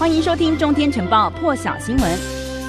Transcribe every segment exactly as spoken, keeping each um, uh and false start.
歡迎收聽中天晨報破曉新聞。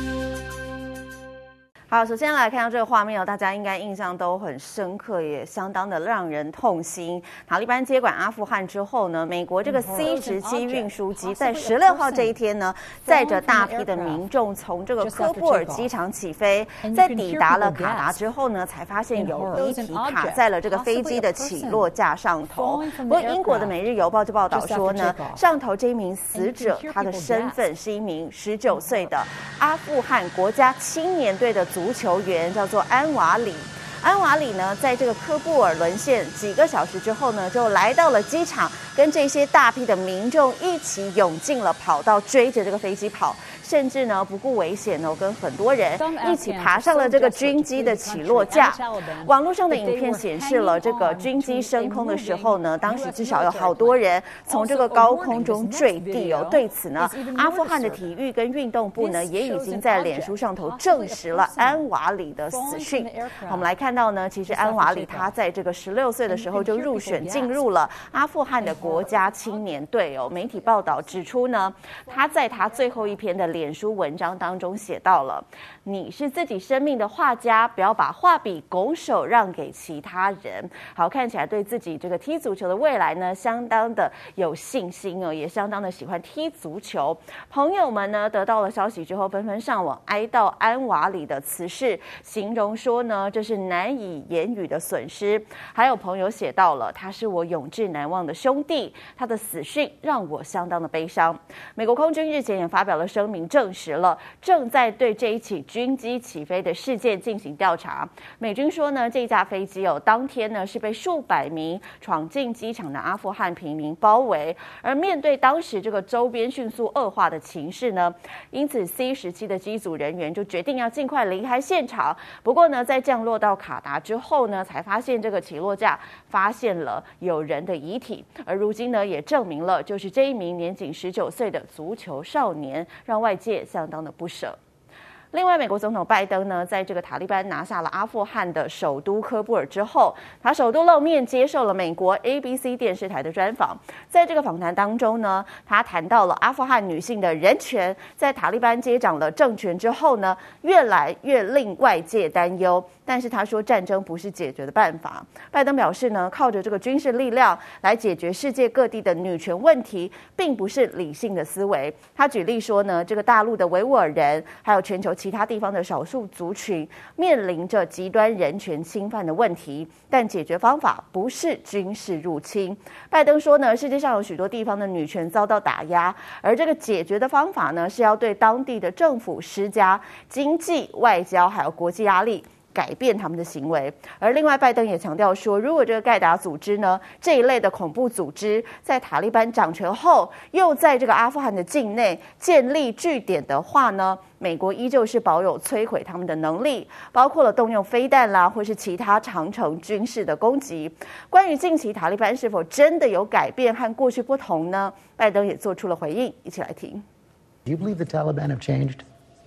好，首先來看到這個畫面哦，大家應該印象都很深刻，也相當的讓人痛心。塔利班接管阿富汗之後呢，美國這個 C 十七運輸機在十六號這一天呢，載着大批的民眾從這個科布爾機場起飛，在抵達了卡達之後呢，才發現有遺體卡在了這個飛機的起落架上頭。不過，英國的《每日郵報》就報道說呢，上頭這一名死者，他的身份是一名十九歲的阿富汗國家青年隊的足球員，叫做安瓦里。安瓦里呢，在這個科布爾淪陷幾個小時之後呢，就來到了機場，跟這些大批的民眾一起湧進了跑道，追着這個飛機跑，甚至呢不顧危險哦，跟很多人一起爬上了這個軍機的起落架。網絡上的影片顯示了這個軍機升空的時候呢，當時至少有好多人從這個高空中墜地哦。對此呢，阿富汗的體育跟運動部呢，也已經在臉書上頭證實了安瓦里的死訊。我們來看到呢，其實安瓦里他在這個十六歲的時候就入選進入了阿富汗的國家青年隊哦。媒體報道指出呢，他在他最後一篇的臉書文章當中寫到了：你是自己生命的畫家，不要把畫筆拱手讓給其他人。好，看起來對自己這個踢足球的未來呢，相當的有信心哦，也相當的喜歡踢足球。朋友們呢，得到了消息之後，紛紛上網哀悼安瓦里的辭世，形容說呢，這是難以言語的損失。還有朋友寫到了，他是我永誌難忘的兄弟，他的死訊讓我相當的悲傷。美國空軍日前也發表了聲明，證實了正在對這一起軍機起飛的事件進行調查。美軍說呢，這架飛機哦，當天呢是被數百名闖進機場的阿富汗平民包圍，而面對當時這個周邊迅速惡化的情勢呢，因此 C 十七的機組人員就決定要盡快離開現場。不過呢，在降落到卡達之後呢，才發現這個起落架發現了有人的遺體，而如今呢，也證明了就是這一名年僅十九歲的足球少年，讓外界相當的不捨。另外，美國總統拜登呢，在這個塔利班拿下了阿富汗的首都科布爾之後，他首度露面接受了美國 A B C 電視台的專訪。在這個訪談當中呢，他談到了阿富汗女性的人權，在塔利班接掌了政權之後呢，越來越令外界擔憂。但是他說，戰爭不是解決的辦法。拜登表示呢，靠着這個軍事力量來解決世界各地的女權問題，並不是理性的思維。他舉例說呢，這個大陸的維吾爾人，還有全球其他地方的少數族群，面臨着極端人權侵犯的問題，但解決方法不是軍事入侵。拜登說呢，世界上有許多地方的女權遭到打壓，而這個解決的方法呢，是要對當地的政府施加經濟、外交還有國際壓力，改變他們的行為。而另外，拜登也強調說，如果這個蓋達組織呢，這一類的恐怖組織在塔利班掌權後，又在這個阿富汗的境內建立據點的話呢，美國依舊是保有摧毀他們的能力，包括了動用飛彈啦，或是其他長程軍事的攻擊。關於近期塔利班是否真的有改變和過去不同呢？拜登也做出了回應，一起來聽。 Do you believe the Taliban have changed?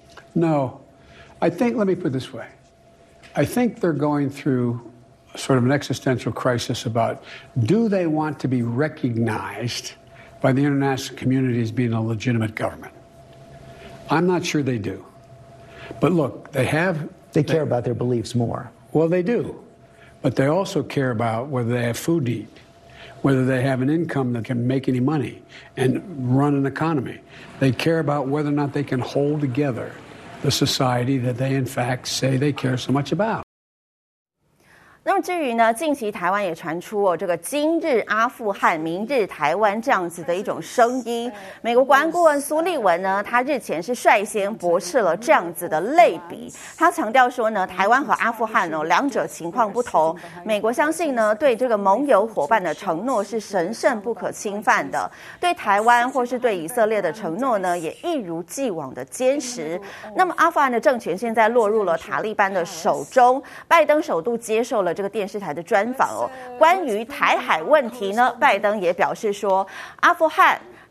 No. I think, let me put it this way. I think they're going through sort of an existential crisis about, do they want to be recognized by the international community as being a legitimate government? I'm not sure they do. But look, they have... They care they, about their beliefs more. Well, they do. But they also care about whether they have food to eat, whether they have an income that can make any money and run an economy. They care about whether or not they can hold together the society that they in fact say they care so much about. 那麼至於呢，近期台灣也傳出哦，這個今日阿富汗，明日台灣這樣子的一種聲音。美國國安顧問蘇利文呢，他日前是率先駁斥了這樣子的類比。他強調說呢，台灣和阿富汗哦，兩者情況不同。美國相信呢，對這個盟友夥伴的承諾是神聖不可侵犯的，對台灣或是對以色列的承諾呢，也一如既往的堅實。那麼阿富汗的政權現在落入了塔利班的手中，拜登首度接受了這個電視台的專訪哦。關於台海問題呢，拜登也表示說，阿富汗、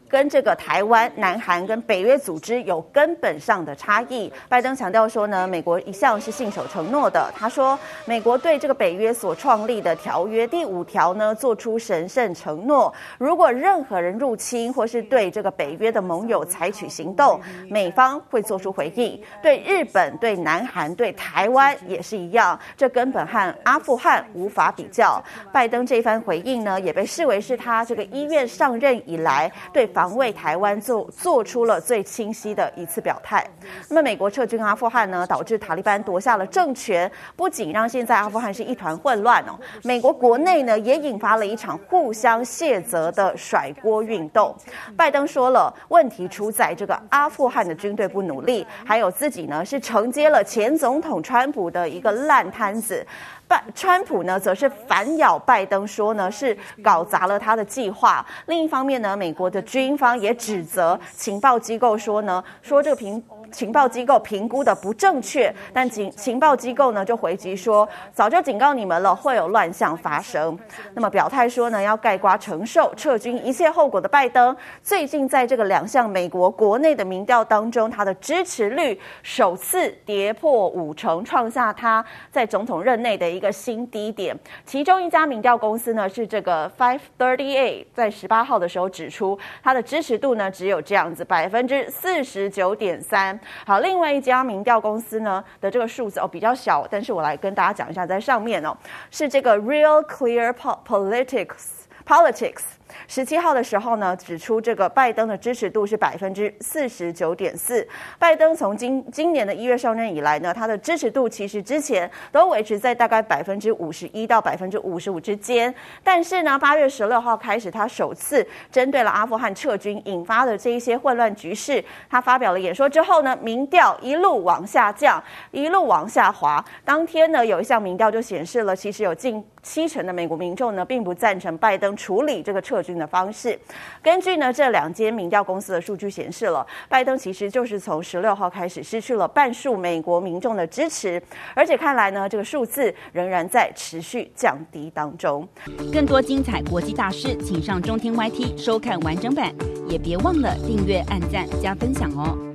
跟這個台灣、南韓跟北約組織有根本上的差異。拜登強調說呢，美國一向是信守承諾的。他說，美國對這個北約所創立的條約第五條呢，做出神聖承諾，如果任何人入侵或是對這個北約的盟友採取行動，美方會做出回應。對日本、對南韓、對台灣也是一樣，這根本和阿富汗無法比較。拜登這番回應呢，也被視為是他這個一月上任以來對防衛台灣做做出了最清晰的一次表態。那麼美國撤軍阿富汗呢，導致塔利班奪下了政權，不僅讓現在阿富汗是一團混亂哦，美國國內呢也引發了一場互相卸責的甩鍋運動。拜登說了，問題出在這個阿富汗的軍隊不努力，還有自己呢是承接了前總統川普的一個爛攤子。拜川普呢，則是反咬拜登說呢，是搞砸了他的計劃。另一方面呢，美國的軍方也指責情報機構說呢，說這個評情報機構評估的不正確，但情情報機構呢就回擊說，早就警告你們了，會有亂象發生。那麼表態說呢，要概括承受撤軍一切後果的拜登，最近在這個兩項美國國內的民調當中，他的支持率首次跌破五成，創下他在總統任內的一個新低點。其中一家民調公司呢是這個 five thirty-eight， 在十八號的時候指出，他的支持度呢只有這樣子百分之四十九點三。好，另外一家民調公司呢的這個數字哦比較小，但是我來跟大家講一下，在上面哦是這個 Real Clear Politics Politics。十七號的時候呢，指出這個拜登的支持度是百分之四十九點四。拜登從今今年的一月上任以來呢，他的支持度其實之前都維持在大概百分之五十一到百分之五十五之間。但是呢，八月十六號開始，他首次針對了阿富汗撤軍引發的這一些混亂局勢，他發表了演說之後呢，民調一路往下降，一路往下滑。當天呢，有一項民調就顯示了，其實有近七成的美國民眾呢，並不贊成拜登處理這個撤軍的方式。根據呢這兩間民調公司的數據顯示了，拜登其實就是從十六號開始失去了半數美國民眾的支持，而且看來呢這個數字仍然在持續降低當中。 更多精彩國際大事，請上中天 Y T 收看完整版，也別忘了訂閱、按讚、加分享哦。